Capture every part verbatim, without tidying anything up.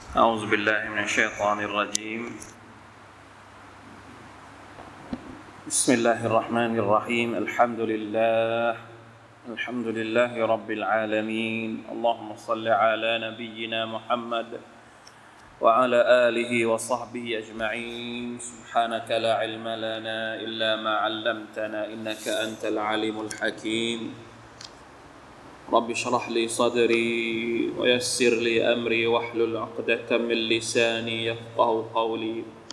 أعوذ بالله من الشيطان الرجيم بسم الله الرحمن الرحيم الحمد لله الحمد لله رب العالمين اللهم صل على نبينا محمد وعلى آله وصحبه أجمعين سبحانك لا علم لنا إلا ما علمتنا إنك أنت العليم الحكيم رب اشرح لي صدري ويسر لي أمري واحلل عقدة من لساني يفقهوا قولي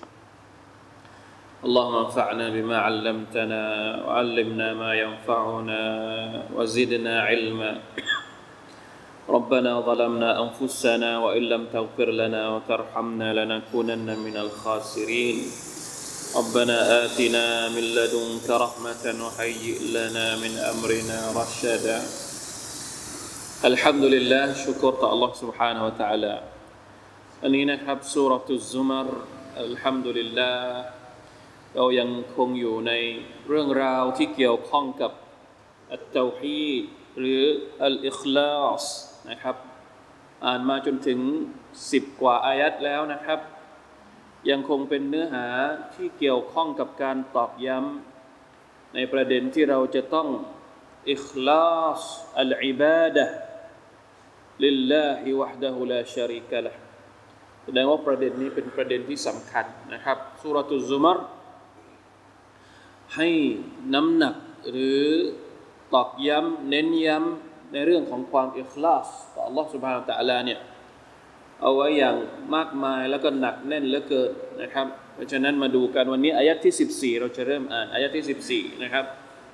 اللهم انفعنا بما علمتنا وعلمنا ما ينفعنا وزدنا علما ربنا ظلمنا أنفسنا وإن لم تغفر لنا وترحمنا لنكونن من الخاسرين ربنا آتنا من لدنك رحمة وهيئ لنا من أمرنا رشدا الحمد لله ชุกรต่อ Allah سبحانه และ تعالى อันนี้นะครับซูเราะตุซซุมัรอัลฮัมดุลิลลาห์เรายังคงอยู่ในเรื่องราวที่เกี่ยวข้องกับอัตเตาฮีดหรืออัลอิคลาสนะครับอ่านมาจนถึงสิบกว่าอายัดแล้วนะครับยังคงเป็นเนื้อหาที่เกี่ยวข้องกับการตอกย้ำในประเด็นที่เราจะต้องอิคลาสอัลอิบาดะห์ลิลลาฮิวะห์ดะฮูลาชะรีกะละห์แสดงว่าประเด็นนี้เป็นประเด็นที่สำคัญนะครับซูเราะตุซซุมัรให้น้ำหนักหรือตอกย้ำเน้นย้ำในเรื่องของความอิคลาสต่อ Allah Subhanahu Wa Taala เนี่ยเอาไว้อย่างมากมายแล้วก็หนักแน่นเหลือเกินนะครับเพราะฉะนั้นมาดูกันวันนี้อายะห์ที่สิบสี่เราจะเริ่มอ่านอายะห์ที่สิบสี่นะครับ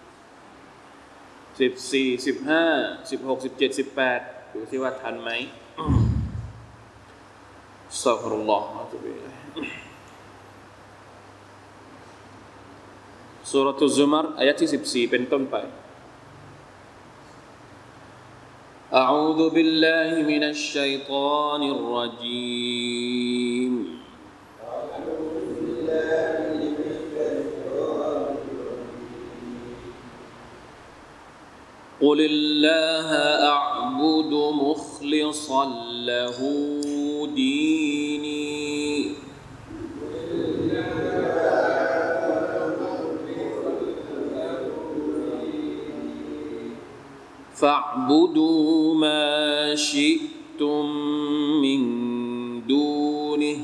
สิบสี่ สิบห้า สิบหก สิบเจ็ด สิบแปดดูสิว่าทันไหมอัสตัฆฟิรุลลอฮ์อะตูบิอิลัยฮิซูเราะตุซซุมัรอายะห์ที่สิบสี่เป็นต้นไปอะอูซุบิลลาฮิมินัชชัยฏอนิรเราะญีมقل الله أعبد مخلصا له ديني فاعبدوا ما شئتم من دونه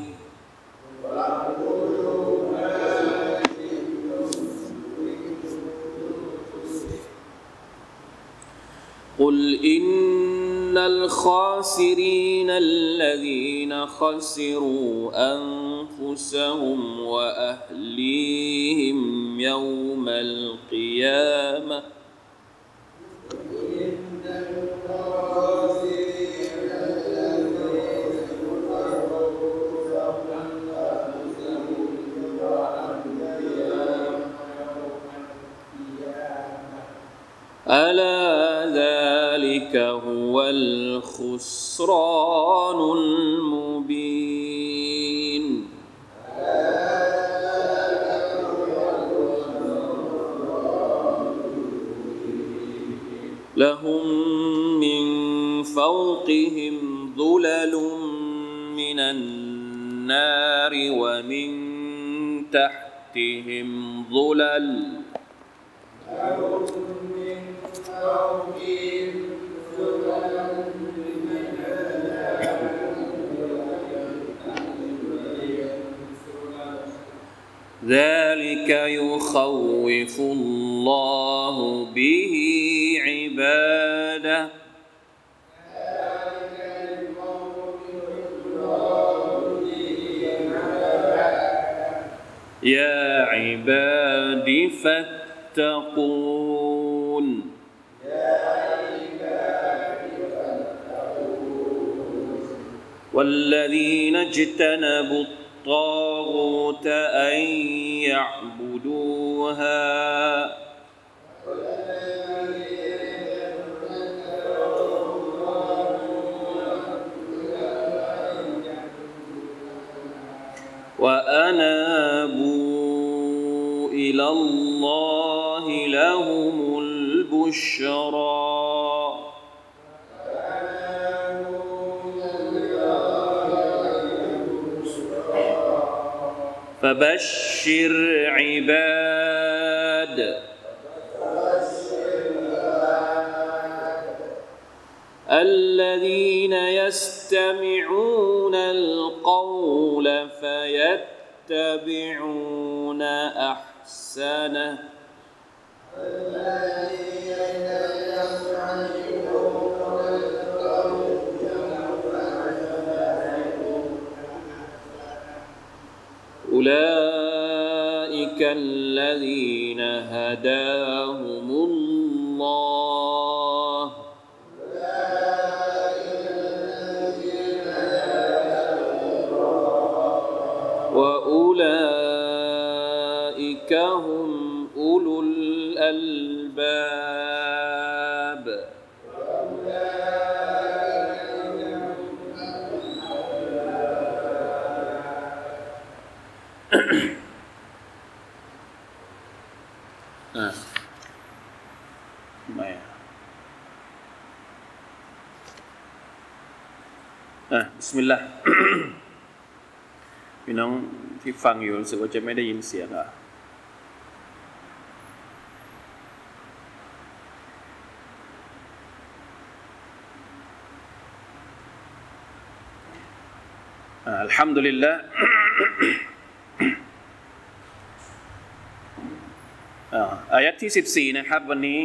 قل إن الخاسرين الذين خسروا أنفسهم وأهليهم يوم القيامة ألا ذلك هو الخسران المبين لهم من فوقهم ظلل من النار ومن تحتهم ظلل ذلك يخوف الله به عباده يا عباد فاتقون والذين اجتنبوا الطاغوت أن يعبدوها وأنابوا إلى الله لهم البشرى فبشر عباد الذين يستمعون القول فيتبعون أحسنه أولئك الذين هداهم الله وأولئك هم أولو الألبابอ่าไม่อ่ะบิสมิลลาห์ พี่น้องที่ฟังอยู่รู้สึกว่าจะไม่ได้ยินเสียงอ่ะอัลฮัมดุลิลลาห์ อายะห์ที่สิบสี่นะครับวันนี้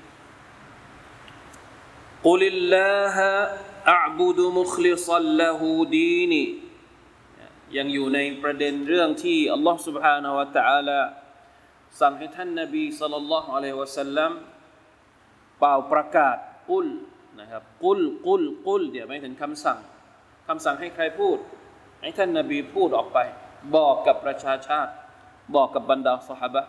กุลิลลาฮะอะอ์บุดุมุคลิศัลละฮูดีนียังอยู่ในประเด็นเรื่องที่อัลลอฮฺ سبحانه และ تعالى สั่งให้ท่านนบีศ็อลลัลลอฮุอะลัยฮิวะซัลลัมเป่าประกาศกุลนะครับกุลกุลกุลเดี๋ยวไม่ถึงคำสั่งคำสั่งให้ใครพูดให้ท่านนบีพูดออกไปบอกกับประชาชาติบอกกับบรรดาซอฮาบะห์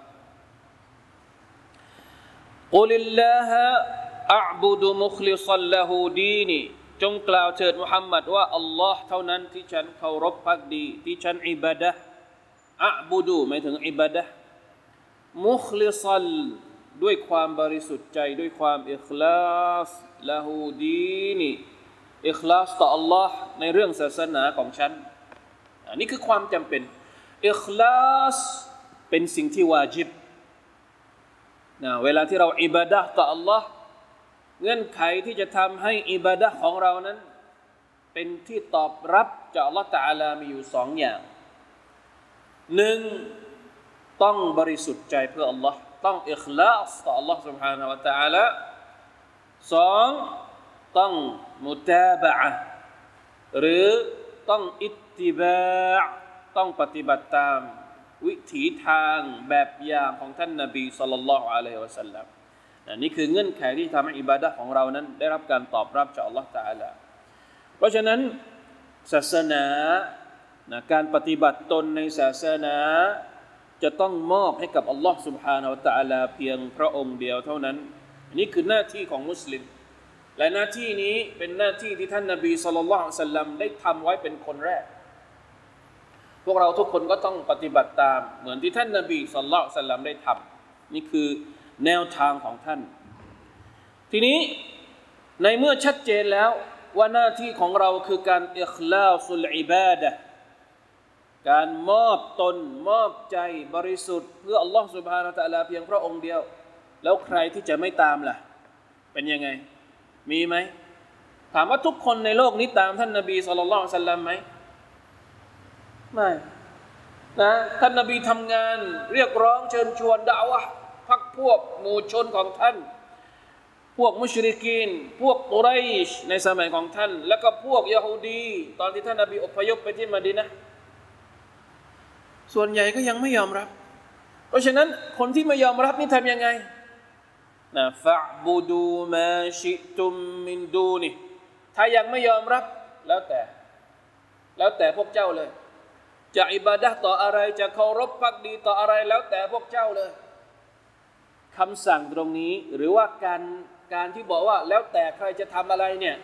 กุลิลลาฮะอะอ์บุดุมุคลิศัลละฮูดีนีจงกล่าวเถิดมุฮัมมัดว่าอัลลอฮ์เท่านั้นที่ฉันเคารพภักดีที่ฉันอิบาดะห์อะอ์บุดุหมายถึงอิบาดะห์มุคลิศัลด้วยความบริสุทธิ์ใจด้วยความอิคลาสละฮูดีนีอิคลาสต่ออัลลอฮ์ในเรื่องศาสนาของฉันอันนี้คือความจำเป็นอิคลาสเป็นสิ่งที่วาญิบนะเวลาที่เราอิบาดะห์ต่ออัลลอฮ์เงื่อนไขที่จะทำให้อิบาดะห์ของเรานั้นเป็นที่ตอบรับจากอัลลอฮ์ตะอาลามีอยู่สองอย่างหนึ่งต้องบริสุทธิ์ใจเพื่ออัลลอฮ์ต้องอิคลาสต่ออัลลอฮ์ سبحانه และ تعالى สองต้องมุตาบะอะห์หรือต้องอิตติบาอ์ต้องปฏิบัติตามวิถีทางแบบอย่างของท่านนบีศ็อลลัลลอฮุอะลัยฮิวะซัลลัมนี่คือเงื่อนไขที่ทำให้อิบาดะห์ของเรานั้นได้รับการตอบรับจากอัลลอฮฺตะอาลาเพราะฉะนั้นศาสนานะการปฏิบัติตนในศาสนาจะต้องมอบให้กับอัลลอฮฺ سبحانه และ تعالى เพียงพระองค์เดียวเท่านั้นนี่คือหน้าที่ของมุสลิมและหน้าที่นี้เป็นหน้าที่ที่ท่านนบีศ็อลลัลลอฮุอะลัยฮิวะซัลลัมได้ทำไว้เป็นคนแรกพวกเราทุกคนก็ต้องปฏิบัติตามเหมือนที่ท่านนบีศ็อลลัลลอฮุอะลัยฮิวะซัลลัมได้ทำนี่คือแนวทางของท่านทีนี้ในเมื่อชัดเจนแล้วว่าหน้าที่ของเราคือการอิคลาสุลอิบาดะห์การมอบตนมอบใจบริสุทธิ์เพื่ออัลลอฮฺ سبحانه และ تعالى เพียงพระองค์เดียวแล้วใครที่จะไม่ตามล่ะเป็นยังไงมีไหมถามว่าทุกคนในโลกนี้ตามท่านนบีศ็อลลัลลอฮุอะลัยฮิวะซัลลัมไหมไม่นะท่านนบีทำงานเรียกร้องเชิญชวนดะอ์วะห์พรรคพวกหมู่ชนของท่านพวกมุชริกีนพวกกุไรชในสมัยของท่านแล้วก็พวกยะฮูดีตอนที่ท่านนบีอพยพไปที่มะดีนะห์ส่วนใหญ่ก็ยังไม่ยอมรับเพราะฉะนั้นคนที่ไม่ยอมรับนี่ทำยังไงนะฟะบุดูมาชิตุมมินดูนิถ้ายังไม่ยอมรับแล้วแต่แล้วแต่พวกเจ้าเลยจะอิบาดะห์ต่ออะไรจะเคารพภักดีต่ออะไรแล้วแต่พวกเจ้าเลยคำสั่งตรงนี้หรือว่าการการที่บอกว่าแล้วแต่ใครจะทำอะไรเนี่ย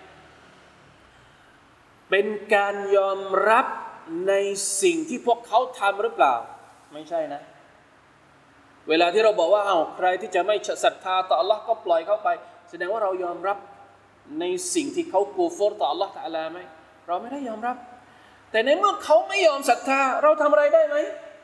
เป็นการยอมรับในสิ่งที่พวกเขาทำหรือเปล่าไม่ใช่นะเวลาที่เราบอกว่าเอาใครที่จะไม่ศรัทธาต่อ Allah ก็ปล่อยเขาไปแสดงว่าเรายอมรับในสิ่งที่เขากูฟรต่อ Allah ตะอาลาไหมเราไม่ได้ยอมรับแต่ในเมื่อเขาไม่ยอมศรัทธาเราทำอะไรได้ไหม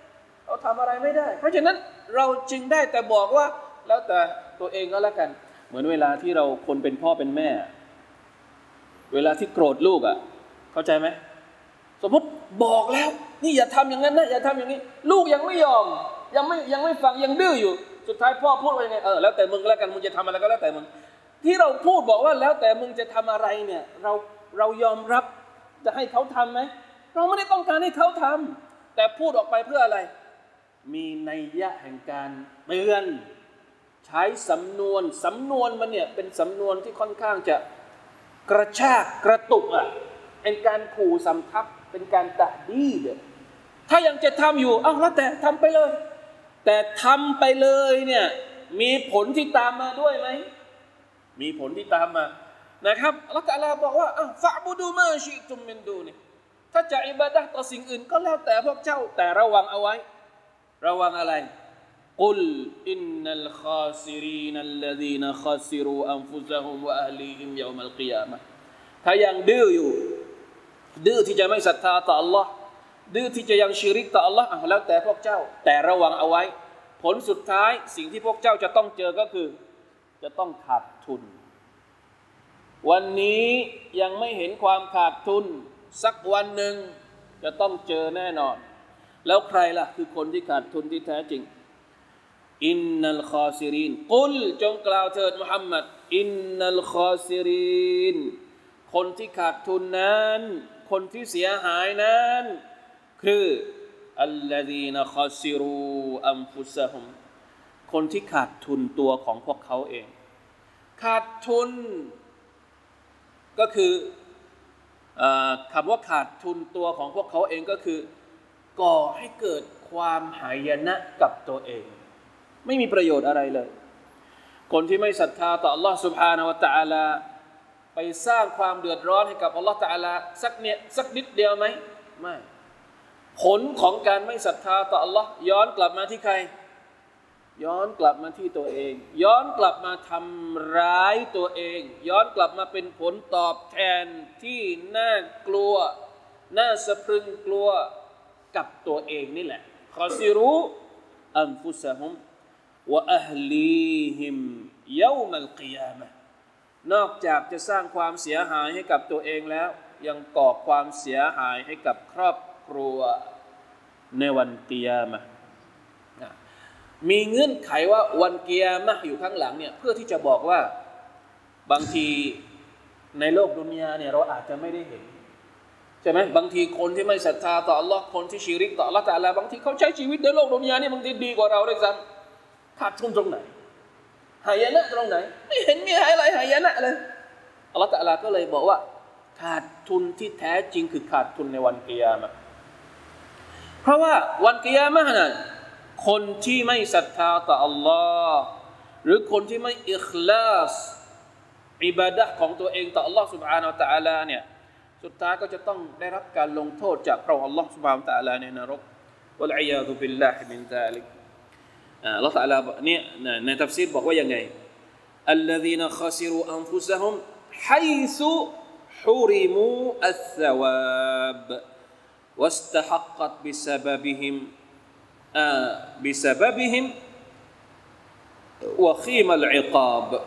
เราทำอะไรไม่ได้เพราะฉะนั้นเราจึงได้แต่บอกว่าแล้วแต่ตัวเองก็แล้วกันเหมือนเวลาที่เราคนเป็นพ่อเป็นแม่เวลาที่โกรธลูกอ่ะเข้าใจไหมสมมติบอกแล้วนี่อย่าทำอย่างนั้นนะอย่าทำอย่างนี้ลูกยังไม่ยอมยังไม่ยังไม่ฟังยังดื้ออยู่สุดท้ายพ่อพูดว่ายังไงเออแล้วแต่มึงแล้วกันมึงจะทำอะไรก็แล้วแต่มึงที่เราพูดบอกว่าแล้วแต่มึงจะทำอะไรเนี่ยเราเรายอมรับจะให้เขาทำไหมเราไม่ได้ต้องการให้เขาทำแต่พูดออกไปเพื่ออะไรมีนัยยะแห่งการเตือนใช้สำนวนสำนวนมันเนี่ยเป็นสำนวนที่ค่อนข้างจะกระชากกระตุกอ่ะเป็นการขู่สำทับเป็นการตะดีดถ้ายังจะทำอยู่อ้าวแล้วแต่ทำไปเลยแต่ทำไปเลยเนี่ยมีผลที่ตามมาด้วยไหมมีผลที่ตามมานะครับอัลเลาะห์ตะอาลาบอกว่าอ้าวฟะอ์บุดูมาชิตุมมินดูนีถ้าจะอิบาดะห์ต่อสิ่งอื่นก็แล้วแต่พวกเจ้าแต่ระวังเอาไว้ระวังอะไรกุลอินนัลคาซิรีนัลลซีนคาซิรูอันฟุซะฮุมวะอะห์ลีฮิมยอมัลกิยามะฮ์ถ้ายังดื้ออยู่ดื้อที่จะไม่ศรัทธาต่อ Allah ดื้อที่จะยังชิริกต่อ Allah อ่ะแล้วแต่พวกเจ้าแต่ระวังเอาไว้ผลสุดท้ายสิ่งที่พวกเจ้าจะต้องเจอก็คือจะต้องขาดทุนวันนี้ยังไม่เห็นความขาดทุนสักวันหนึ่งจะต้องเจอแน่นอนแล้วใครล่ะคือคนที่ขาดทุนที่แท้จริงอินนัลคาซิรินกุลจงกล่าวเถิดมุฮัมมัดอินนัลคาซิรินคนที่ขาดทุนนั้นคนที่เสียหายนั้นคืออัลลซีนคาซิรูอันฟุซะฮุมคนที่ขาดทุนตัวของพวกเขาเองขาดทุนก็คือคำว่าขาดทุนตัวของพวกเขาเองก็คือก่อให้เกิดความหายนะกับตัวเองไม่มีประโยชน์อะไรเลยคนที่ไม่ศรัทธาต่อ Allah سبحانه และ تعالى ไปสร้างความเดือดร้อนให้กับ Allah تعالى สักเนี่ยสักนิดเดียวไหมไม่ผลของการไม่ศรัทธาต่อ Allah ย้อนกลับมาที่ใครย้อนกลับมาที่ตัวเองย้อนกลับมาทำร้ายตัวเองย้อนกลับมาเป็นผลตอบแทนที่น่ากลัวน่าสะพรึงกลัวกับตัวเองนี่แหละคอซิรูอันฟุซะฮุมวะอะฮลีฮิมยอมัลกิยามะฮ์นอกจากจะสร้างความเสียหายให้กับตัวเองแล้วยังก่อความเสียหายให้กับครอบครัวในวันกิยามะฮ์มีเงื่อนไขว่าวันกิยามะฮ์อยู่ข้างหลังเนี่ยเพื่อที่จะบอกว่าบางทีในโลกดุนยาเนี่ยเราอาจจะไม่ได้เห็นใช่ไหมบางทีคนที่ไม่ศรัทธาต่อ Allah คนที่ชิริกต่อ Allah ตะอาลาบางทีเขาใช้ชีวิตในโลกดุนยานี่บางทีดีกว่าเราด้วยซ้ำขาดทุนตรงไหนหายนะตรงไหนไม่เห็นมีอะไรหายนะเลย Allah ตะอาลาก็เลยบอกว่าขาดทุนที่แท้จริงคือขาดทุนในวันกิยามะฮ์เพราะว่าวันกิยามะฮ์นั้นคนที่ไม่ศรัทธาต่อ Allah หรือคนที่ไม่อิคลาสอิบาดะห์ของตัวเองต่อ Allah سبحانه และ تعالى เนี่ยสุดท้ายก็จะต้องได้รับการลงโทษจากพระองค์ Allah سبحانه และ تعالى ในนรกวัลอียาซุบิลลาฮิมินซาลิกอ่า Allah تعالى เนี่ยในตัฟซีรบอกว่ายังไงอัลลซีนคาซิรูอันฟุซะฮุมฮัยซุฮุริมูอัสซะวาบวัสตะฮักกัตบิซะบะบิฮิมอ่าบิซะบะบิฮิมวะคีมัลอิกาบ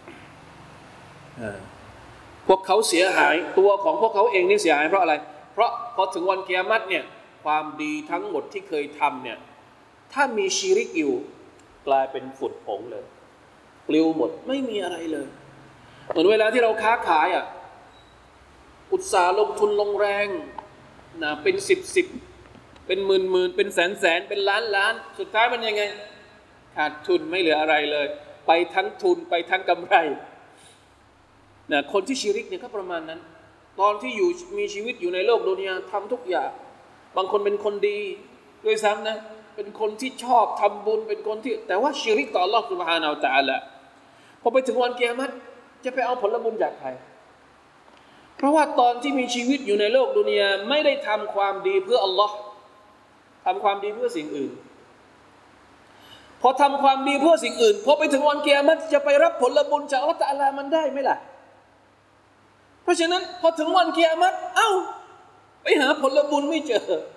พวกเขาเสียหายตัวของพวกเขาเองนี่เสียหายเพราะอะไรเพราะพอถึงวันกิยามะฮ์เนี่ยความดีทั้งหมดที่เคยทำเนี่ยถ้ามีชิริกอยู่กลายเป็นฝุ่นผงเลยปลิวหมดไม่มีอะไรเลยเหมือนเวลาที่เราค้าขายอ่ะอุตสาห์ลงทุนลงแรงนะเป็นสิบสิบเป็นหมื่นหมื่นเป็นแสนแสนเป็นล้านล้านสุดท้ายมันยังไงขาดทุนไม่เหลืออะไรเลยไปทั้งทุนไปทั้งกำไรนะคนที่ชิริกเนี่ยก็ประมาณนั้นตอนที่อยู่มีชีวิตอยู่ในโลกดุนยาทำทุกอย่างบางคนเป็นคนดีด้วยซ้ำนะเป็นคนที่ชอบทำบุญเป็นคนที่แต่ว่าชิริกต่อ Allah سبحانه และ تعالى พอไปถึงวันกิยามะฮ์จะไปเอาผลบุญจากใครเพราะว่าตอนที่มีชีวิตอยู่ในโลกดุนยาไม่ได้ทำความดีเพื่อ Allah ทำความดีเพื่อสิ่งอื่นพอทำความดีเพื่อสิ่งอื่นพอไปถึงวันกิยามะฮ์จะไปรับผลบุญจาก Allah تعالى มันได้ไหมล่ะเพราะฉะนั้นพอถึงวันกิยามะฮ์เอ้าไปหาผลบุญไม่เจอ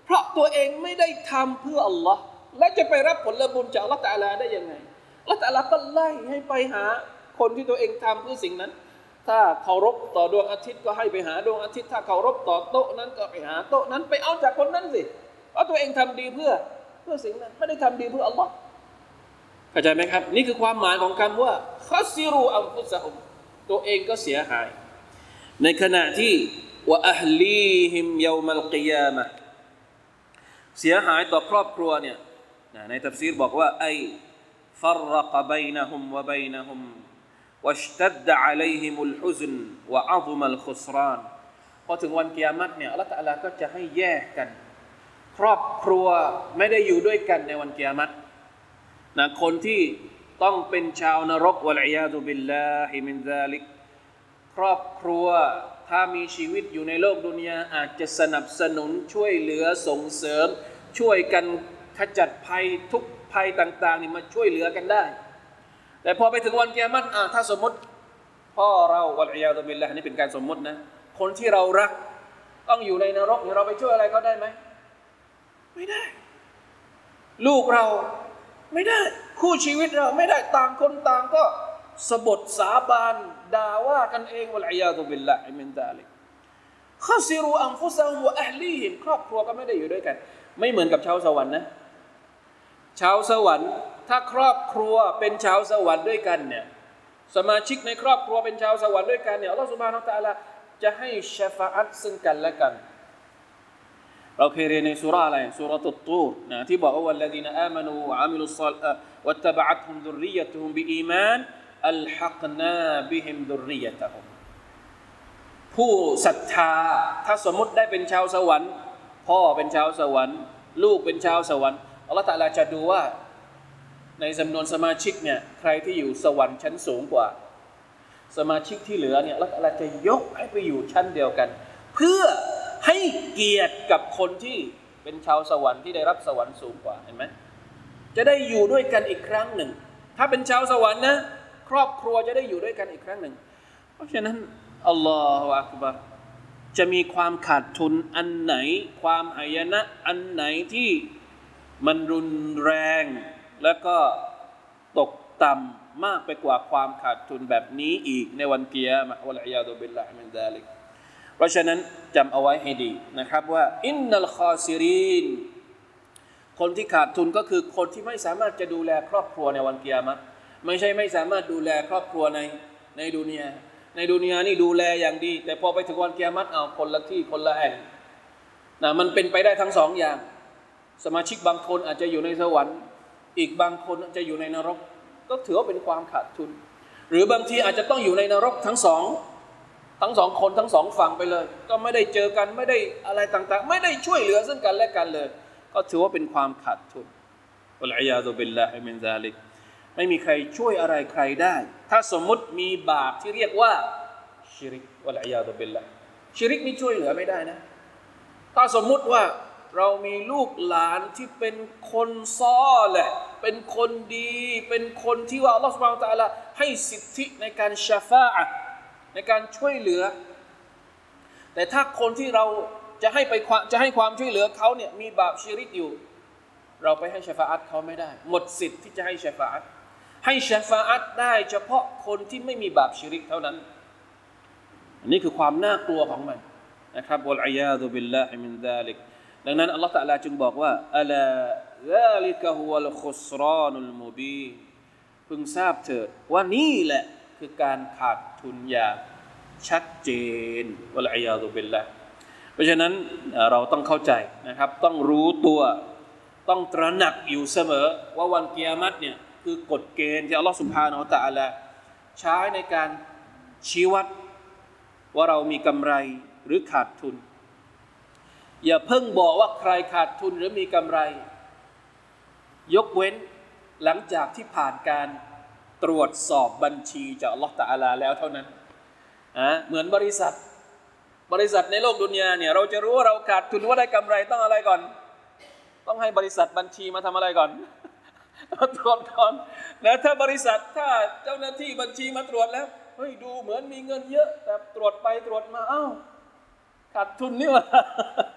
เพราะตัวเองไม่ได้ทำเพื่ออัลลอฮ์และจะไปรับผลบุญจากอัลลอฮ์ตะอาลาได้ยังไงอัลลอฮ์ตะอาลาก็ไล่ให้ไปหาคนที่ตัวเองทำเพื่อสิ่งนั้นถ้าเคารพต่อดวงอาทิตย์ก็ให้ไปหาดวงอาทิตย์ถ้าเคารพต่อโต๊ะนั้นก็ไปหาโต๊ะนั้นไปเอาจากคนนั้นสิเพราะตัวเองทำดีเพื่อเพื่อสิ่งนั้นไม่ได้ทำดีเพื่ออัลลอฮ์เข้าใจไหมครับนี่คือความหมายของคำว่าคัสซิรูอัมฟุซะฮุมตัวเองก็เสียหายในขณะที่วะอัฮลีฮิมยอมัลกิยามะห์เสียหายต่อครอบครัวเนี่ยในตัฟซีรบอกว่าไอฟัรรกบัยนะฮุมวะบัยนะฮุมวัชตัดอะลัยฮิมุลฮุซนวะอะซุมัลคุสรานพอถึงวันกิยามะห์เนี่ยอัลเลาะห์ตะอาลาก็จะให้แยกกันครอบครัวไม่ได้อยู่ด้วยกันในวันกิยามะห์นะคนที่ต้องเป็นชาวนรกวะลัยยาซุบิลลาฮิมินซาลิกครอบครัวถ้ามีชีวิตอยู่ในโลกดุนยาอาจจะสนับสนุนช่วยเหลือส่งเสริมช่วยกันขจัดภัยทุกภัยต่างๆนี่มาช่วยเหลือกันได้แต่พอไปถึงวันกิยามะห์อ่ะถ้าสมมติพ่อเราวะลัยยาซุบิลลาฮ์นี่เป็นการสมมตินะคนที่เรารักต้องอยู่ในนรกเราไปช่วยอะไรเขาได้ไหมไม่ได้ลูกเราไม่ได้คู่ชีวิตเราไม่ได้ต่างคนต่างก็สบทสาบานด่าว่ากันเองวะลัยยาซุบิลลาฮิมินซาลิกคัสซิรูอันฟุซะฮุมวะอะฮลีฮิมครอบครัวก็ไม่ได้อยู่ด้วยกันไม่เหมือนกับชาวสวรรค์นะชาวสวรรค์ถ้าครอบครัวเป็นชาวสวรรค์ด้วยกันเนี่ยสมาชิกในครอบครัวเป็นชาวสวรรค์ด้วยกันเนี่ยอัลเลาะห์ซุบฮานะฮูวะตะอาลาจะให้ชะฟาอะฮ์ซึ่งกันและกันเราเคยเรียนในซูเราะห์อะไรซูเราะตุตตูรนะที่บอกว่าวัลลซีนะอามานูวะอามิลุศศอลิฮาตวัตตะบะอะตุฮุมซุรริยะตุฮุมบิอีมานอัลฮักนาบิฮิมซุรริยะตะฮุมผู้ศรัทธาถ้าสมมุติได้เป็นชาวสวรรค์พ่อเป็นชาวสวรรค์ลูกเป็นชาวสวรรค์อัลเลาะห์ตะอาลาจะดูว่าในจำนวนสมาชิกเนี่ยใครที่อยู่สวรรค์ชั้นสูงกว่าสมาชิกที่เหลือเนี่ยอัลเลาะห์ตะอาลาจะยกให้ไปอยู่ชั้นเดียวกันเพื่อให้เกียรติกับคนที่เป็นชาวสวรรค์ที่ได้รับสวรรค์สูงกว่าเห็นไหมจะได้อยู่ด้วยกันอีกครั้งหนึ่งถ้าเป็นชาวสวรรค์นะครอบครัวจะได้อยู่ด้วยกันอีกครั้งหนึ่งเพราะฉะนั้นอัลลอฮฺอักบัรจะมีความขาดทุนอันไหนความหายนะอันไหนที่มันรุนแรงแล้วก็ตกต่ำมากไปกว่าความขาดทุนแบบนี้อีกในวันกิยามะฮ์วะลัยยาซุบิลลาฮิมินซาลิกเพราะฉะนั้นจำเอาไว้ให้ดีนะครับว่าอินนัลคอซิรินคนที่ขาดทุนก็คือคนที่ไม่สามารถจะดูแลครอบครัวในวันกิยามะฮ์ไม่ใช่ไม่สามารถดูแลครอบครัวในในดุนยาในดุนยานี่ดูแลอย่างดีแต่พอไปถึงวันกิยามะฮ์เอาคนละที่คนละแห่งนะมันเป็นไปได้ทั้งสองอย่างสมาชิกบางคนอาจจะอยู่ในสวรรค์อีกบางคนอาจจะอยู่ในนรกก็ถือว่าเป็นความขาดทุนหรือบางทีอาจจะต้องอยู่ในนรกทั้งสองทั้งสองคนทั้งสองฝั่งไปเลยก็ไม่ได้เจอกันไม่ได้อะไรต่างๆไม่ได้ช่วยเหลือซึ่งกันและกันเลยก็ถือว่าเป็นความขาดทุนวัลอียาซุบิลลาฮิมินซาลิกไม่มีใครช่วยอะไรใครได้ถ้าสมมุติมีบาปที่เรียกว่าชิริกวัลอียาซุบิลลาฮ์ชิริกนี่ช่วยเหลือไม่ได้นะถ้าสมมุติว่าเรามีลูกหลานที่เป็นคนซ้อแหละเป็นคนดีเป็นคนที่ว่าอัลเลาะห์ซุบฮานะฮูวะตะอาลาให้สิทธิในการชะฟาอะห์ในการช่วยเหลือแต่ถ้าคนที่เราจะให้ไปจะให้ความช่วยเหลือเขาเนี่ยมีบาปชิริกอยู่เราไปให้ชะฟาอะห์เขาไม่ได้หมดสิทธิ์ที่จะให้ชะฟาอะห์ให้ชะฟาอะห์ได้เฉพาะคนที่ไม่มีบาปชิริกเท่านั้นอันนี้คือความน่ากลัวของมันนะครับวัลอียาซุบิลลาฮิมินซาลิกดังนั้นอัลเลาะห์ตะอาลาจึงบอกว่าอะลาซาลิกะฮุวัลคุสรานุลมุบีนพึงทราบเถิดว่านี่แหละคือการขาดทุนอย่างชัดเจนวัลอียาซุบิลลาฮ์เพราะฉะนั้นเราต้องเข้าใจนะครับต้องรู้ตัวต้องตระหนักอยู่เสมอว่าวันกิยามะฮ์เนี่ยคือกฎเกณฑ์ที่อัลเลาะห์ซุบฮานะฮูวะตะอาลาใช้ในการชี้วัดว่าเรามีกำไรหรือขาดทุนอย่าเพิ่งบอกว่าใครขาดทุนหรือมีกำไรยกเว้นหลังจากที่ผ่านการตรวจสอบบัญชีจากอัลเลาะห์ตะอาลาแล้วเท่านั้นอ่ะเหมือนบริษัทบริษัทในโลกดุนยาเนี่ยเราจะรู้ว่าเราขาดทุนว่าได้กำไรต้องอะไรก่อนต้องให้บริษัทบัญชีมาทำอะไรก่อนมาตรวจก่อนนะถ้าบริษัทถ้าเจ้าหน้าที่บัญชีมาตรวจแล้วเฮ้ยดูเหมือนมีเงินเยอะแต่ตรวจไปตรวจมาอ้าวขาดทุนนี่หว่า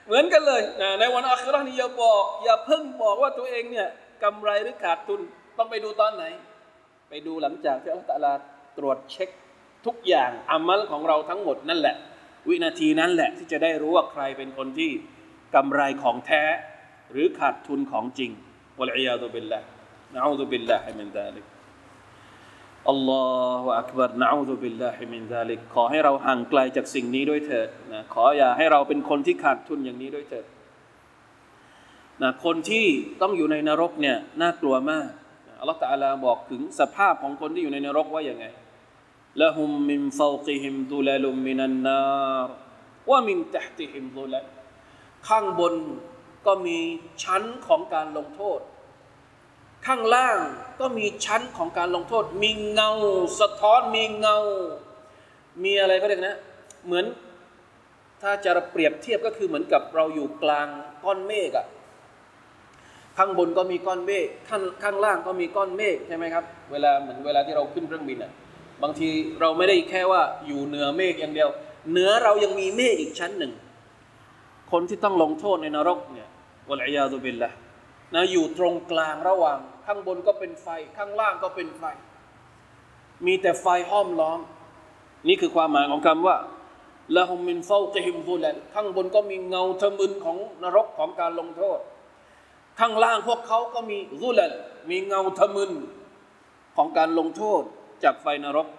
เหมือนกันเลยนะในวันอาคิเราะห์นี่อย่าบอกอย่าเพิ่งบอกว่าตัวเองเนี่ยกำไรหรือขาดทุนต้องไปดูตอนไหนไปดูหลังจากที่อัลเลาะห์ตะอาลาตรวจเช็คทุกอย่างอามัลของเราทั้งหมดนั่นแหละวินาทีนั้นแหละที่จะได้รู้ว่าใครเป็นคนที่กำไรของแท้หรือขาดทุนของจริงวัลอียาซุบิลลาฮ์นะอูซุบิลลาฮิมินซาลิกอัลลอฮฺอักบัรนะอูซุบิลลาฮิมินซาลิกขอให้เราห่างไกลจากสิ่งนี้ด้วยเถิดนะขออย่าให้เราเป็นคนที่ขาดทุนอย่างนี้ด้วยเถิดนะคนที่ต้องอยู่ในนรกเนี่ยน่ากลัวมากอัลเลาะห์ตะอาลาบอกถึงสภาพของคนที่อยู่ในนรกว่าอย่างไงละฮุมมินฟาวกิฮิมซุลัลุมมินันนารวะมินตะห์ติฮิมซุลัลข้างบนก็มีชั้นของการลงโทษข้างล่างก็มีชั้นของการลงโทษมีเงาสะท้อนมีเงามีอะไรก็เรียกนะเหมือนถ้าจะเปรียบเทียบก็คือเหมือนกับเราอยู่กลางก้อนเมฆอะข้างบนก็มีก้อนเมฆข้างข้างล่างก็มีก้อนเมฆใช่ไหมครับเวลาเหมือนเวลาที่เราขึ้นเครื่องบินอะบางทีเราไม่ได้แค่ว่าอยู่เหนือเมฆอย่างเดียวเหนือเรายังมีเมฆอีกชั้นหนึ่งคนที่ต้องลงโทษในนรกเนี่ยวัลอียาซุบิลลาฮ์นะอยู่ตรงกลางระหว่างข้างบนก็เป็นไฟข้างล่างก็เป็นไฟมีแต่ไฟห้อมล้อมนี่คือความหมายของคำว่าละฮุมมินฟาวกิฮิมซุลัลข้างบนก็มีเงาทะมึนของนรกของการลงโทษข้างล่างพวกเขาก็มีซุลัลมีเงาทะมึนของการลงโทษจากไฟนรก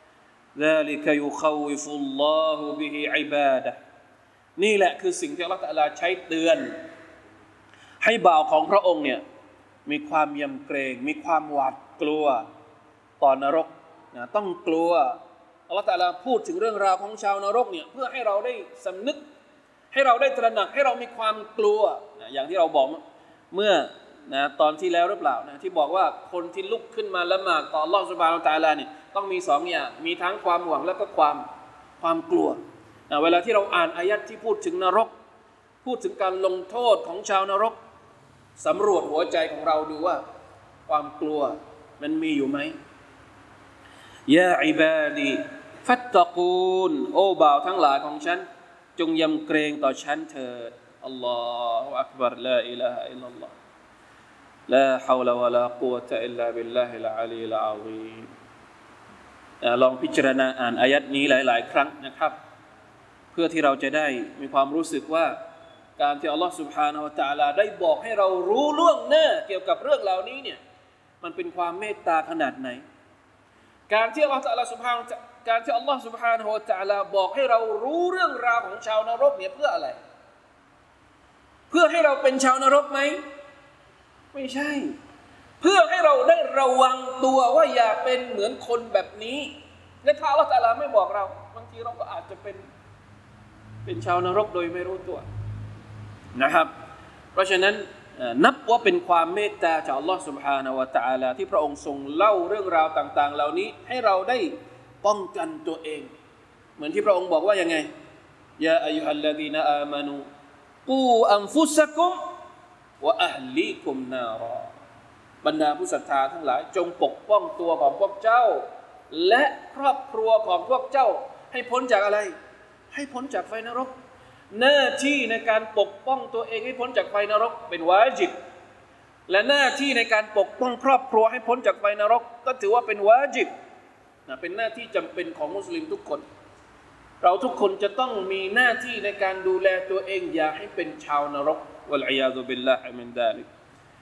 ذلك يخوف الله به عباده นี่แหละคือสิ่งที่อัลเลาะห์ตะอาลาใช้เตือนให้บ่าวของพระองค์เนี่ยมีความยำเกรงมีความหวาดกลัวต่อนรกนะต้องกลัวอัลเลาะห์ตะอาลาพูดถึงเรื่องราวของชาวนรกเนี่ยเพื่อให้เราได้สำนึกให้เราได้ตระหนักให้เรามีความกลัวนะอย่างที่เราบอกเมื่อนะตอนที่แล้วหรือเปล่านะที่บอกว่าคนที่ลุกขึ้นมาละหมาดต่ออัลเลาะห์ซุบฮานะฮูวะตะอาลาเนี่ยต้องมีสองอย่างมีทั้งความหวังและก็ความความกลัวนะเวลาที่เราอ่านอายัดที่พูดถึงนรกพูดถึงการลงโทษของชาวนรกสำรวจหัวใจของเราดูว่าความกลัวมันมีอยู่ไหมยาอิบาดีฟัตตะกูนโอ้บ่าวทั้งหลายของฉันจงยำเกรงต่อฉันเถิดอัลลอฮฺอักบัรลาอิลาฮะอิลลัลลอฮฺลาฮาวลาวะลากุวะตะอิลลาบิลลาฮิลอะลีลอะซีมลองพิจารณาอ่านอายัดนี้หลายๆครั้งนะครับเพื่อที่เราจะได้มีความรู้สึกว่าการที่อัลลอฮฺ سبحانه และ تعالى ได้บอกให้เรารู้ล่วงหน้าเกี่ยวกับเรื่องเหล่านี้เนี่ยมันเป็นความเมตตาขนาดไหนการที่อัลลอฮฺ تعالى سبحانه การที่อัลลอฮฺ سبحانه และ تعالى บอกให้เรารู้เรื่องราวของชาวนรกเนี่ยเพื่ออะไรเพื่อให้เราเป็นชาวนรกไหมไม่ใช่เพื่อให้เราได้ระวังตัวว่าอย่าเป็นเหมือนคนแบบนี้และถ้าอัลลอฮฺ تعالى ไม่บอกเราบางทีเราก็อาจจะเป็นเป็นชาวนรกโดยไม่รู้ตัวนะครับเพราะฉะนั้นนับว่าเป็นความเมตตาจากอัลลอฮฺ سبحانه และ تعالى ที่พระองค์ทรงเล่าเรื่องราวต่างๆเหล่านี้ให้เราได้ป้องกันตัวเองเหมือนที่พระองค์บอกว่ายังไงยาอัยยูฮัลลซีนาอามานูกูอันฟุซะกุมวะอะฮลีกุมนารอบรรดาผู้ศรัทธาทั้งหลายจงปกป้องตัวของพวกเจ้าและครอบครัวของพวกเจ้าให้พ้นจากอะไรให้พ้นจากไฟนรกหน้าที่ในการปกป้องตัวเองให้พ้นจากไฟนรกเป็นวาญิบและหน้าที่ในการปกป้องครอบครัวให้พ้นจากไฟนรกก็ถือว่าเป็นวาญิบนะเป็นหน้าที่จำเป็นของมุสลิมทุกคนเราทุกคนจะต้องมีหน้าที่ในการดูแลตัวเองอย่าให้เป็นชาวนรกวัลอียาซุบิลลาฮิมินซาลิก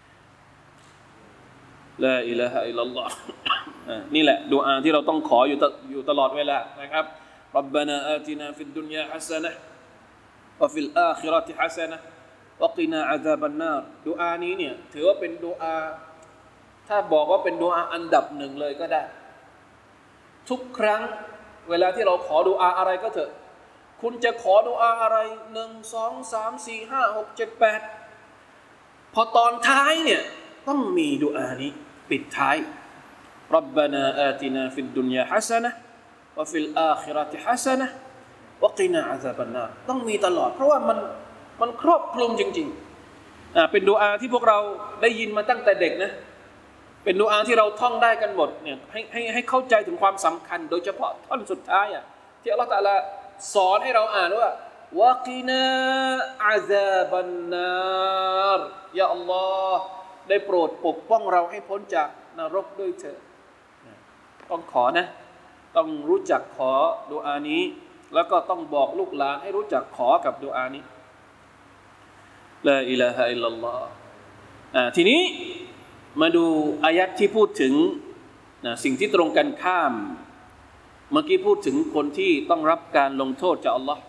ลาอิลาฮะอิลลัลลอฮ์นี่แหละดุอาที่เราต้องขออยู่อยู่ตลอดเวลานะครับรับบานาอาตินาฟิดดุนยาฮัสซะนะฮ์วะฟิลอาคิเราะติฮัสซะนะฮ์วะกินาอะซาบันนารดุอานี้เนี่ยถือว่าเป็นดุอาถ้าบอกว่าเป็นดุอาอันดับหนึ่งเลยก็ได้ทุกครั้งเวลาที่เราขอดุอาอะไรก็เถอะคุณจะขอดุอาอะไรหนึ่ง สอง สาม สี่ ห้า หก เจ็ด แปดพอตอนท้ายเนี่ยต้องมีดุอานี้ปิดท้ายรับบานาอาตินาฟิดดุนยาฮัสซะนะฮ์วะฟิลอาคิเราะติฮัสซะนะฮ์วะกินาอะซาบันนารต้องมีตลอดเพราะว่ามันมันครอบคลุมจริงๆอ่าเป็นดุอาที่พวกเราได้ยินมาตั้งแต่เด็กนะเป็นดุอาที่เราท่องได้กันหมดเนี่ยให้ให้ให้เข้าใจถึงความสำคัญโดยเฉพาะท่อนสุดท้ายอ่ะที่อัลเลาะห์ตะอาลาสอนให้เราอ่านว่าวะกินาอาซาบันนารยาอัลลอฮ์ได้โปรดปกป้องเราให้พ้นจากนรกด้วยเถิดต้องขอนะต้องรู้จักขอดุอานี้แล้วก็ต้องบอกลูกหลานให้รู้จักขอกับดุอานี้ลาอิลาฮะอิลลัลลอฮ์อ่าทีนี้มาดูอายัดที่พูดถึงนะสิ่งที่ตรงกันข้ามเมื่อกี้พูดถึงคนที่ต้องรับการลงโทษจากอัลลอฮ์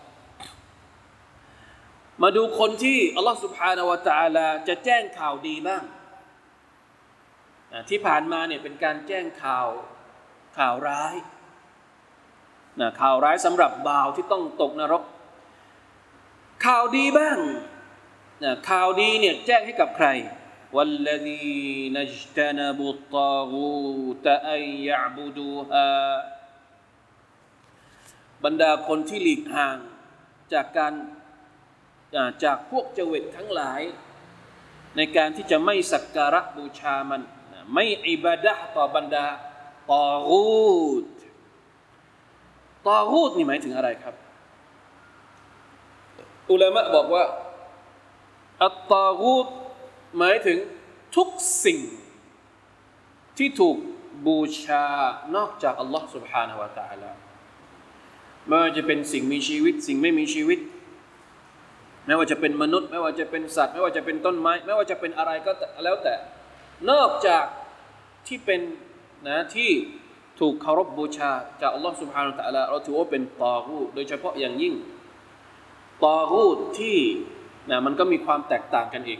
มาดูคนที่อัลลอฮ์ سبحانه และ تعالى จะแจ้งข่าวดีบ้างที่ผ่านมาเนี่ยเป็นการแจ้งข่าวข่าวร้ายนะข่าวร้ายสำหรับบ่าวที่ต้องตกนรกข่าวดีบ้างนะข่าวดีเนี่ยแจ้งให้กับใครوالذين اجتنبوا الطاغوت أن يعبدوها บรรดาคนที่หลีกห่างจากการจากพวกเจวิตทั้งหลายในการที่จะไม่สักการะบูชามันไม่อิบาดะห์ต่อบรรดาตอกูตตอกูตนี่หมายถึงอะไรครับอุลามะบอกว่าอัตตอกูตหมายถึงทุกสิ่งที่ถูกบูชานอกจากอัลลอฮ์ سبحانه และ تعالى ไม่ว่าจะเป็นสิ่งมีชีวิตสิ่งไม่มีชีวิตไม่ว่าจะเป็นมนุษย์ไม่ว่าจะเป็นสัตว์ไม่ว่าจะเป็นต้นไม้ไม่ว่าจะเป็นอะไรก็แล้วแต่นอกจากที่เป็นนะที่ถูกเคารพบูชาจากอัลลอฮ์ سبحانه และ تعالى เราถือว่าเป็นตอกูตโดยเฉพาะอย่างยิ่งตอกูตที่นะมันก็มีความแตกต่างกันอีก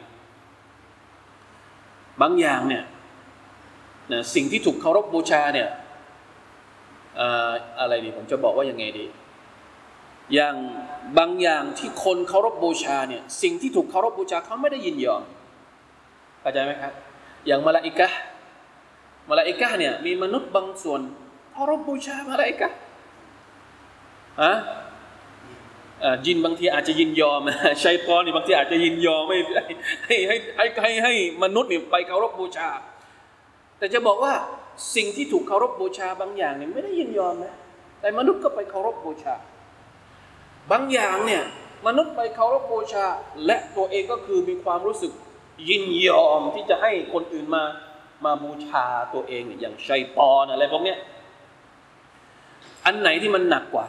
บางอย่างเนี่ยนะสิ่งที่ถูกเคารพบูชาเนี่ยอ่าอะไรดีผมจะบอกว่ายังไงดีอย่างบางอย่างที่คนเคารพบูชาเนี่ยสิ่งที่ถูกเคารพบูชาเขาไม่ได้ยินยอมเข้าใจไหมครับอย่างมลาอิกะห์มลาอิกะห์เนี่ยมีมนุษย์บางส่วนเคารพบูชามลาอิกะห์ฮะยินบางทีอาจจะยินยอมชัยฏอนนี่บางทีอาจจะยินยอมไม่ให้ให้ให้ให้ให้มนุษย์นี่ไปเคารพบูชาแต่จะบอกว่าสิ่งที่ถูกเคารพบูชาบางอย่างเนี่ยไม่ได้ยินยอมนะแต่มนุษย์ก็ไปเคารพบูชาบางอย่างเนี่ยมนุษย์ไปเคารพบูชาและตัวเองก็คือมีความรู้สึกยินยอมที่จะให้คนอื่นมามาบูชาตัวเองอย่างชัยฏอนอะไรพวกเนี้ยอันไหนที่มันหนักกว่า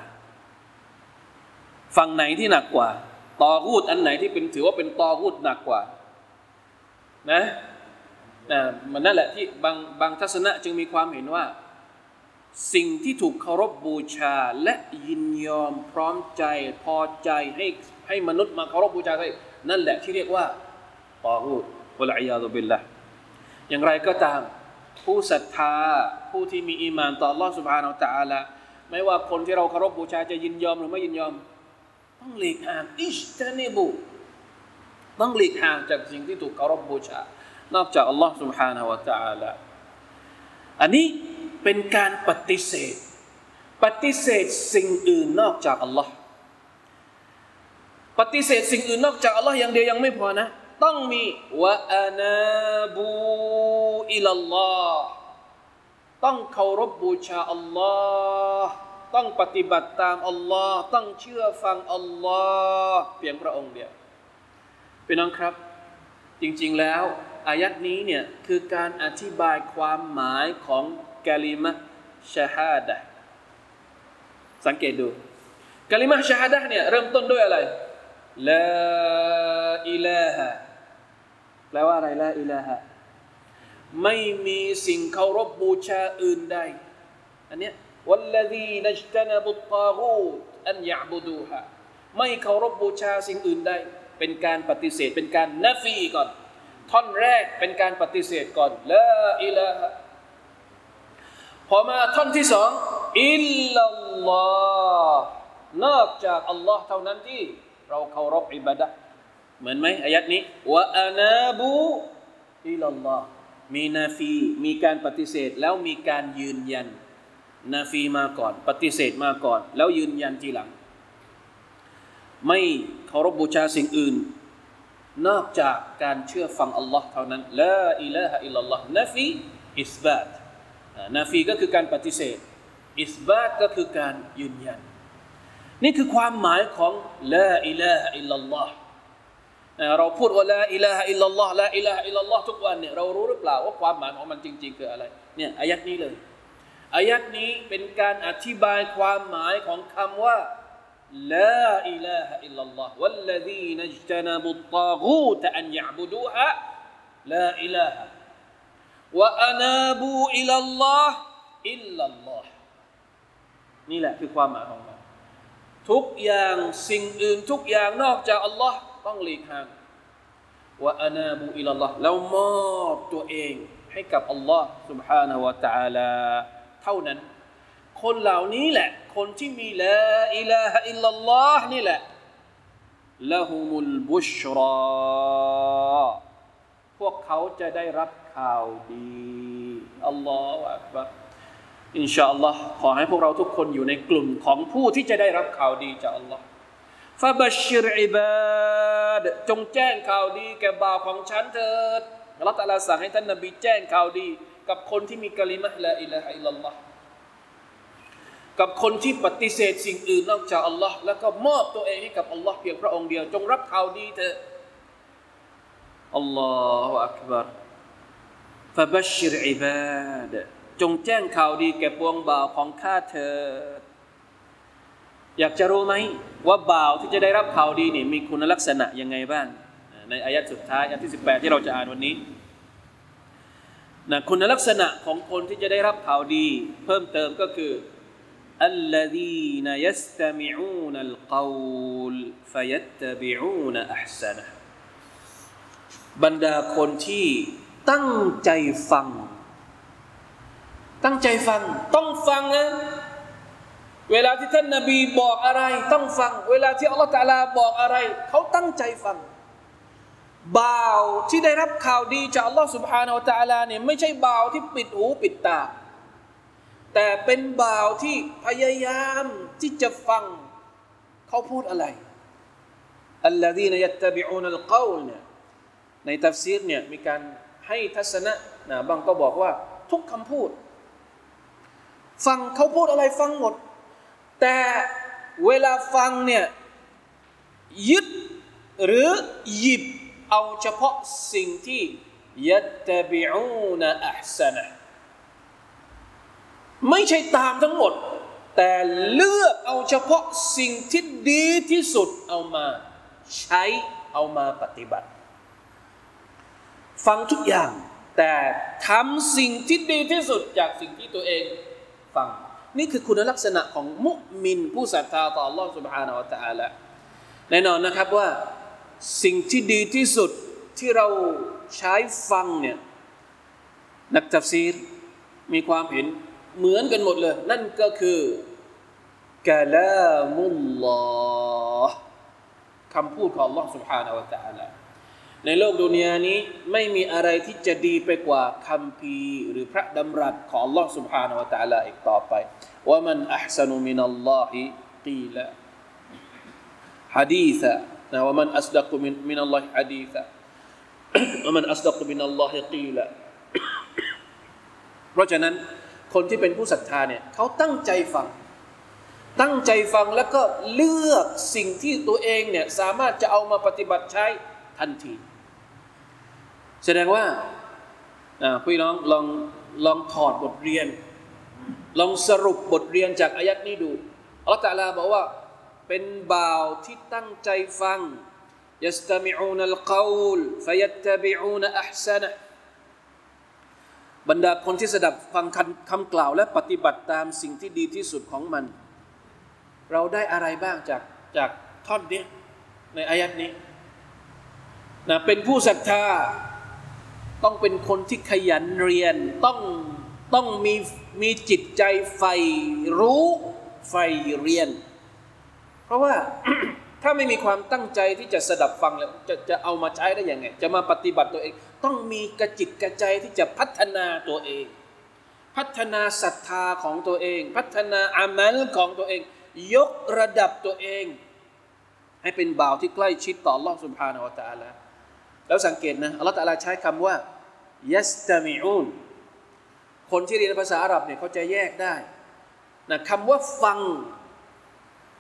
ฝั่งไหนที่หนักกว่าตอกูตอันไหนที่เป็นถือว่าเป็นตอกูตหนักกว่านะนะมันนั่นแหละที่บางบางทัศนะจึงมีความเห็นว่าสิ่งที่ถูกเคารพบูชาและยินยอมพร้อมใจพอใจให้ให้มนุษย์มาเคารพบูชาได้นั่นแหละที่เรียกว่าตอกูตวะลัยยาซุบิลลาห์อย่างไรก็ตามผู้ศรัทธาผู้ที่มีอีหม่านต่ออัลเลาะห์ซุบฮานะฮูวะตะอาลาไม่ว่าคนที่เราเคารพบูชาจะยินยอมหรือไม่ยินยอมต้องหลีกห่างอิจตะนิบุต้องหลีกห่างจากสิ่งที่ถูกเคารพบูชานอกจากอัลลอฮ์ سبحانه และ تعالى อันนี้เป็นการปฏิเสธปฏิเสธสิ่งอื่นนอกจากอัลลอฮ์ปฏิเสธสิ่งอื่นนอกจากอัลลอฮ์อย่างเดียวยังไม่พอนะต้องมีวะอานาบูอิลัลลอฮ์ต้องเคารพบูชาอัลลอฮ์ต้องปฏิบัติตามอัลลอฮ์ต้องเชื่อฟังอัลลอฮ์เพียงพระองค์เดียวพี่น้องครับจริงๆแล้วอายัดนี้เนี่ยคือการอธิบายความหมายของกะลิมะห์ชะฮาดะห์สังเกตดูกะลิมะห์ชะฮาดะห์เนี่ยเริ่มต้นด้วยอะไรลาอิลาฮะแปลว่าอะไรลาอิลาฮะไม่มีสิ่งเคารพบูชาอื่นใดอันเนี้ยوالذين اجتنبوا الطاغوت أن يعبدوها ไม่เคารพบูชาสิ่งอื่นใดเป็นการปฏิเสธเป็นการนะฟีก่อนท่อนแรกเป็นการปฏิเสธก่อนลาอิลาฮะพอมาท่อนที่สองอิลลัลลอฮ์นอกจากอัลลอฮ์เท่านั้นที่เราเคารพอิบาดะห์เหมือนไหมอายัดนี้วะอานาบูอิลลัลลอฮ์มีนาฟีมีการปฏิเสธแล้วมีการยืนยันนาฟีมาก่อนปฏิเสธมาก่อนแล้วยืนยันทีหลังไม่เคารพบูชาสิ่งอื่นนอกจากการเชื่อฟังอัลลอฮ์เท่านั้นลาอิลาฮะอิลลัลลอฮ์นาฟีอิสบาตนาฟีก็คือการปฏิเสธอิสบาตก็คือการยืนยันนี่คือความหมายของลาอิลาฮะอิลลัลลอฮ์เราพูดว่าลาอิลาฮะอิลลัลลอฮ์ลาอิลาฮะอิลลัลลอฮ์ทุกวันเนี่ยเรารู้หรือเปล่าว่าความหมายของมันจริงๆคืออะไรเนี่ยอายัดนี้เลยอายัดนี้เป็นการอธิบายความหมายของคำว่าลาอิลาฮะอิลลัลลอฮ์วัลลซีนัจตะนะบุตตากูตอันยะบุดูฮะลาอิลาฮะวะอานาบูอิลลัลลอฮ์อิลลัลลอฮ์นี่แหละคือความหมายของมันทุกอย่างสิ่งอื่นทุกอย่างนอกจากอัลลอฮ์ต้องหลีกห่างวะอานาบูอิลลัลลอฮ์แล้วมอบตัวเองให้กับอัลลอฮ์ سبحانه และ تعالى เท่านั้นคนเหล่านี้แหละคนที่มีลาอิลาฮะอิลลัลลอฮ์นี่แหละละฮุมุลบุชราพวกเขาจะได้รับข่าวดีอัลลอฮฺอักบัรอินชาอัลลอฮ์ขอให้พวกเราทุกคนอยู่ในกลุ่มของผู้ที่จะได้รับข่าวดีจากอัลลอฮ์ฟะบัชชิรอิบาดจงแจ้งข่าวดีแก่บ่าวของฉันเถิดอัลลอฮฺตะอาลาสั่งให้ท่านนบีแจ้งข่าวดีกับคนที่มีกะลิมะฮ์ลาอิลาฮะอิลลัลลอฮ์กับคนที่ปฏิเสธสิ่งอื่นนอกจากอัลลอฮ์แล้วก็มอบตัวเองให้กับอัลลอฮ์เพียงพระองค์เดียวจงรับข่าวดีเถิดอัลลอฮฺอักบัรฟะบัชชิรอิบาดจงแจ้งข่าวดีแก่ปวงบ่าวของข้าเถิดอยากจะรู้ไหมว่าบ่าวที่จะได้รับข่าวดีนี่มีคุณลักษณะยังไงบ้างในอายะห์สุดท้ายอายะห์ที่สิบแปดที่เราจะอ่านวันนี้นะคุณลักษณะของคนที่จะได้รับข่าวดีเพิ่มเติมก็คืออัลลซีนยัสตะมิอูนัลกอลฟะยัตตะบิอูนอัห์ซะนะห์บรรดาคนที่ตั้งใจฟังตั้งใจฟังต้องฟังนะเวลาที่ท่านนบีบอกอะไรต้องฟังเวลาที่อัลลอฮฺตะอาลาบอกอะไรเขาตั้งใจฟังบ่าวที่ได้รับข่าวดีจากอัลลอฮฺ سبحانه และ تعالى เนี่ยไม่ใช่บ่าวที่ปิดหูปิดตาแต่เป็นบ่าวที่พยายามที่จะฟังเขาพูดอะไรอัลลซีนยัตตะบิอูนัลกอลเนี่ยในตัฟซีรเนี่ยมีการให้ทัศนะนะบางก็บอกว่าทุกคำพูดฟังเขาพูดอะไรฟังหมดแต่เวลาฟังเนี่ยยึดหรือหยิบเอาเฉพาะสิ่งที่ยัตตะบิอูนอัห์ซะนะห์ไม่ใช่ตามทั้งหมดแต่เลือกเอาเฉพาะสิ่งที่ดีที่สุดเอามาใช้เอามาปฏิบัติฟังทุกอย่างแต่ทำสิ่งที่ดีที่สุดจากสิ่งที่ตัวเองฟังนี่คือคุณลักษณะของมุมินผู้ศรัทธาต่อ Allah سبحانه และ تعالى แน่นอนนะครับว่าสิ่งที่ดีที่สุดที่เราใช้ฟังเนี่ยนักตัฟซีรมีความเห็นเหมือนกันหมดเลยนั่นก็คือกะลามุลลอฮ์คำพูดของ Allah سبحانه และ تعالى ในโลกดุนยานี้ไม่มีอะไรที่จะดีไปกว่าคัมภีร์หรือพระดำรัสของ Allah سبحانه และ تعالى อีกต่อไปว่ามันอัห์ซะนุมินัลลอฮิกีละหะดีษะนะว่ามันอัศดักมินมินัลลอฮิหะดีษะว่ามันอัศดักมินัลลอฮิกีละเพราะฉะนั้นคนที่เป็นผู้ศรัทธาเนี่ยเขาตั้งใจฟังตั้งใจฟังแล้วก็เลือกสิ่งที่ตัวเองเนี่ยสามารถจะเอามาปฏิบัติใช้ทันทีแสดงว่าพี่น้องลองลองถอดบทเรียนลองสรุปบทเรียนจากอายัดนี้ดูอัลเลาะห์ตะอาลาบอกว่าเป็นบ่าวที่ตั้งใจฟังยัสตะมิอูนัลกอลฟะยัตตะบิอูนอัห์ซะนะห์บรรดาคนที่สดับฟังคำกล่าวและปฏิบัติตามสิ่งที่ดีที่สุดของมันเราได้อะไรบ้างจากจากท่อนนี้ในอายัดนี้นะเป็นผู้ศรัทธาต้องเป็นคนที่ขยันเรียนต้องต้องมีมีจิตใจใฝ่รู้ใฝ่เรียนเพราะว่า ถ้าไม่มีความตั้งใจที่จะสดับฟังแล้วจะจะเอามาใช้ได้ยังไงจะมาปฏิบัติตัวเองต้องมีกระจิตกระใจที่จะพัฒนาตัวเองพัฒนาศรัทธาของตัวเองพัฒนาอามัลของตัวเองยกระดับตัวเองให้เป็นบ่าวที่ใกล้ชิดต่อ Allah سبحانه และ تعالى แล้วสังเกตนะ Allah تعالى ใช้คำว่ายัสตะมิอูนคนที่เรียนภาษาอาหรับเนี่ยเขาจะแยกได้นะคำว่าฟัง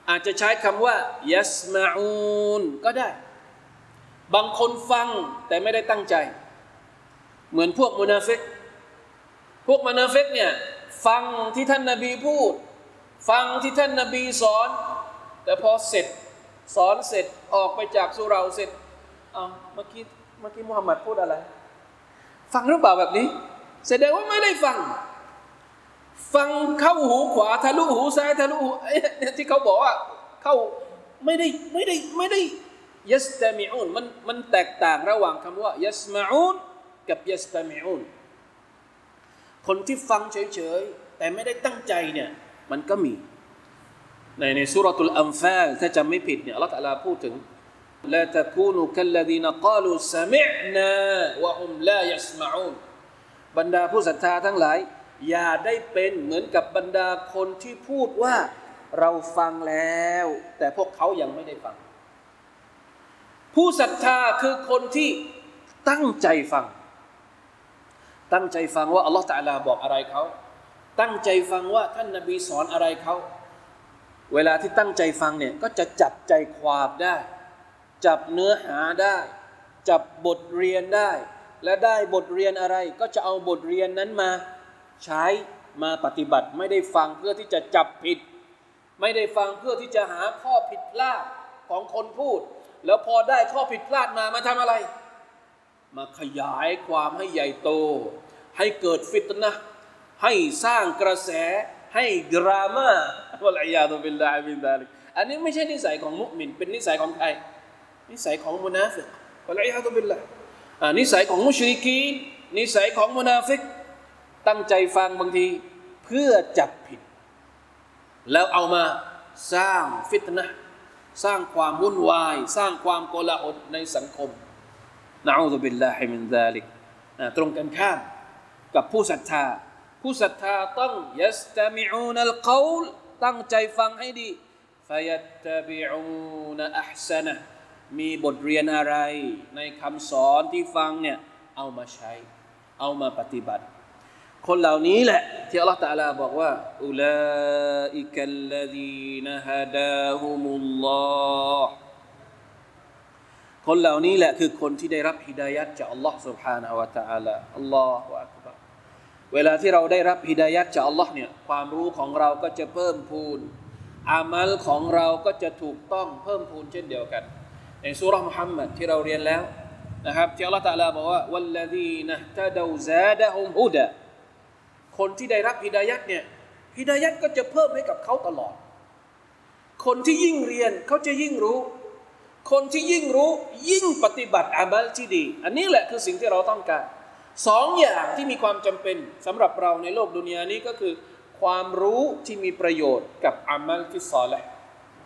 อาจจะใช้คำว่ายัสมาอูนก็ได้บางคนฟังแต่ไม่ได้ตั้งใจเหมือนพวกมุนาฟิกพวกมุนาฟิกเนี่ยฟังที่ท่านนบีพูดฟังที่ท่านนบีสอนแต่พอเสร็จสอนเสร็จออกไปจากสุเราเสร็จอ้าวเมื่อกี้เมื่อกี้มุฮัมมัดพูดอะไรฟังหรือเปล่าแบบนี้แสดงว่าไม่ได้ฟังฟังเข้าหูขวาทะลุหูซ้ายทะลุหูที่เขาบอกว่าเข้าไม่ได้ไม่ได้ไม่ได้ยัสตามิอูนมันมันแตกต่างระหว่างคำว่ายัสมาอูนกับยัสตามิอูนคนที่ฟังเฉยๆแต่ไม่ได้ตั้งใจเนี่ยมันก็มีในในซูเราะตุลอันฟาลถ้าจำไม่ผิดเนี่ยอัลเลาะห์ตะอาลาพูดถึงลาตะกูนูกัลลซีนกาลูซะมิอ์นาวะฮุมลายัสมะอูนบรรดาผู้ศรัทธาทั้งหลายอย่าได้เป็นเหมือนกับบรรดาคนที่พูดว่าเราฟังแล้วแต่พวกเขายังไม่ได้ฟังผู้ศรัทธาคือคนที่ตั้งใจฟังตั้งใจฟังว่าอัลเลาะห์ตะอาลาบอกอะไรเขาตั้งใจฟังว่าท่านนบีสอนอะไรเขาเวลาที่ตั้งใจฟังเนี่ยก็จะจับใจความได้จับเนื้อหาได้จับบทเรียนได้และได้บทเรียนอะไรก็จะเอาบทเรียนนั้นมาใช้มาปฏิบัติไม่ได้ฟังเพื่อที่จะจับผิดไม่ได้ฟังเพื่อที่จะหาข้อผิดพลาดของคนพูดแล้วพอได้ข้อผิดพลาดมามาทำอะไรมาขยายความให้ใหญ่โตให้เกิดฟิตนะห์ให้สร้างกระแสให้ดราม่าวะลัยยาตุบิลลาฮิมินซาลิกอันนี้ไม่ใช่นิสัยของมุมินเป็นนิสัยของใครนิสัยของมุนาฟิกวะลัยยาตุบิลลาอ่านิสัยของมุชริกีนนิสัยของมุนาฟิกตั้งใจฟังบางทีเพื่อจับผิดแล้วเอามาสร้างฟิตนะห์สร้างความวุ่นวายสร้างความโกลาหลในสังคมนะอูซุบิลลาฮิมินซาลิกตรงกันข้ามกับผู้ศรัทธาผู้ศรัทธาต้องยัสตะมิอูนัลกอลตั้งใจฟังให้ดีฟัยัตตะบิอูนอัห์ซะนะมีบทเรียนอะไรในคำสอนที่ฟังเนี่ยเอามาใช้เอามาปฏิบัติคนเหล่านี้แหละที่อัลเลาะห์ตะอาลาบอกว่าอุลาอิกัลลซีนฮะดาฮุมุลลอฮ์คนเหล่านี้แหละคือคนที่ได้รับฮิดายัตจากอัลลอฮ์ سبحانه และ تعالى อัลลอฮุอักบัรเวลาที่เราได้รับฮิดายัตจากอัลลอฮ์เนี่ยความรู้ของเราก็จะเพิ่มพูนอามัลของเราก็จะถูกต้องเพิ่มพูนเช่นเดียวกันในซูเราะห์มุฮัมมัดที่เราเรียนแล้วนะครับที่อัลเลาะห์ตะอาลาบอกว่าวัลลซีนะฮ์ตะดาวซาดะฮุมฮุดาคนที่ได้รับฮิดายัตเนี่ยฮิดายัตก็จะเพิ่มให้กับเขาตลอดคนที่ยิ่งเรียนเขาจะยิ่งรู้คนที่ยิ่งรู้ยิ่งปฏิบัติอามัลที่ดีอันนี้แหละคือสิ่งที่เราต้องการสองอย่างที่มีความจำเป็นสำหรับเราในโลกดุนยานี้ก็คือความรู้ที่มีประโยชน์กับอามัลที่ศอลิห์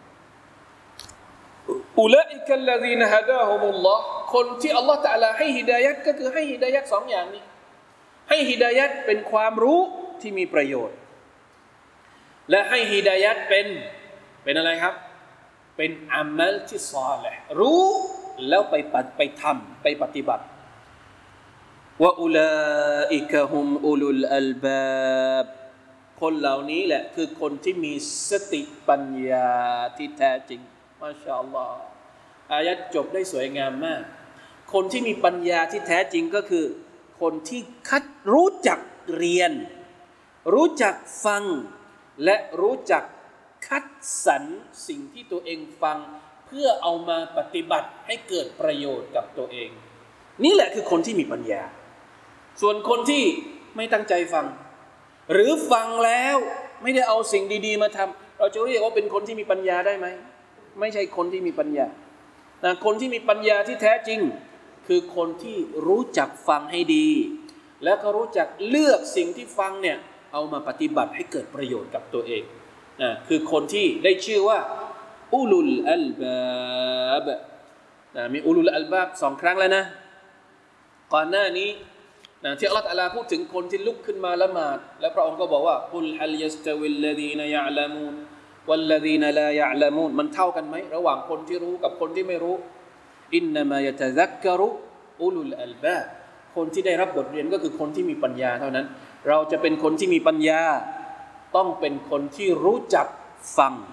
อุลาอิกัลลซีนฮะดาฮุมุลลอฮ์คนที่อัลเลาะห์ตะอาลาให้ฮิดายัตก็คือให้ฮิดายัตสองอย่างนี้ให้ฮิดายัตเป็นความรู้ที่มีประโยชน์และให้ฮิดายัตเป็นเป็นอะไรครับเป็นอามัลที่ศอลิห์รู้แล้วไปไปทำไปปฏิบัติวะอุลาอิกะฮุมอุลุลอัลบาบคนเหล่านี้แหละคือคนที่มีสติปัญญาที่แท้จริงมาชาอัลลอฮ์อายัดจบได้สวยงามมากคนที่มีปัญญาที่แท้จริงก็คือคนที่คัดรู้จักเรียนรู้จักฟังและรู้จักคัดสรรสิ่งที่ตัวเองฟังเพื่อเอามาปฏิบัติให้เกิดประโยชน์กับตัวเองนี่แหละคือคนที่มีปัญญาส่วนคนที่ไม่ตั้งใจฟังหรือฟังแล้วไม่ได้เอาสิ่งดีๆมาทำเราจะเรียกว่าเป็นคนที่มีปัญญาได้ไหมไม่ใช่คนที่มีปัญญานะคนที่มีปัญญาที่แท้จริงคือคนที่รู้จักฟังให้ดีแล้วก็รู้จักเลือกสิ่งที่ฟังเนี่ยเอามาปฏิบัติให้เกิดประโยชน์กับตัวเองนะคือคนที่ได้ชื่อว่าอุลุลอัลบาบนะมีอุลุลอัลบาบสองครั้งแล้วนะก่อนหน้านี้นะที่อัลเลาะห์ตะอาลาพูดถึงคนที่ลุกขึ้นมาละหมาดแล้วพระองค์ก็บอกว่ากุลฮัลยัสตะวิลลซีนยะอ์ละมูนวัลลซีนลายะอ์ละมูนมันเท่ากันไหมระหว่างคนที่รู้กับคนที่ไม่รู้อินนามายะตะซักกะรุอุลุลอัลบาบคนที่ได้รับบทเรียนก็คือคนที่มีปัญญาเท่านั้นเราจะเป็นคนที่มีปัญญาต้องเป็นคนที่รู้จักฟัง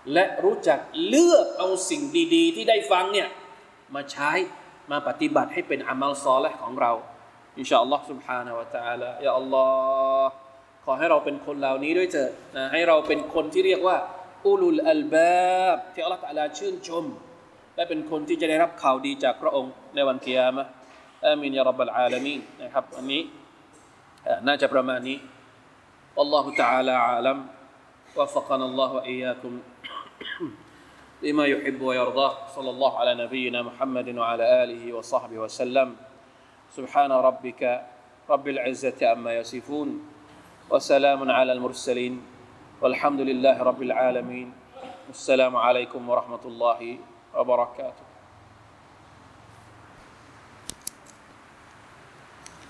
และรู้จักเลือกเอาสิ่งดีๆที่ได้ฟังเนี่ยมาใช้มาปฏิบัติให้เป็นอามัลซอลิห์ของเราอินชาอัลลอฮ์ سبحانه และ تعالى ยาอัลลอฮ์ขอให้เราเป็นคนเหล่านี้ด้วยเถิดนะให้เราเป็นคนที่เรียกว่าอุลุลอัลบาบที่อัลลอฮ์ตะอาลาชื่นชมและเป็นคนที่จะได้รับข่าวดีจากพระองค์ในวันกิยามะฮ์อามีนยาร็อบบัลอาลามีนนะครับวันนี้น่าจะประมาณนี้อัลลอฮุตะอาลาอาลัมوفقنا الله وإياكم لما يحب ويرضاه صلى الله على نبينا محمد وعلى آله وصحبه وسلم سبحان ربك رب العزة عما يصفون وسلام على المرسلين والحمد لله رب العالمين السلام عليكم ورحمة الله وبركاته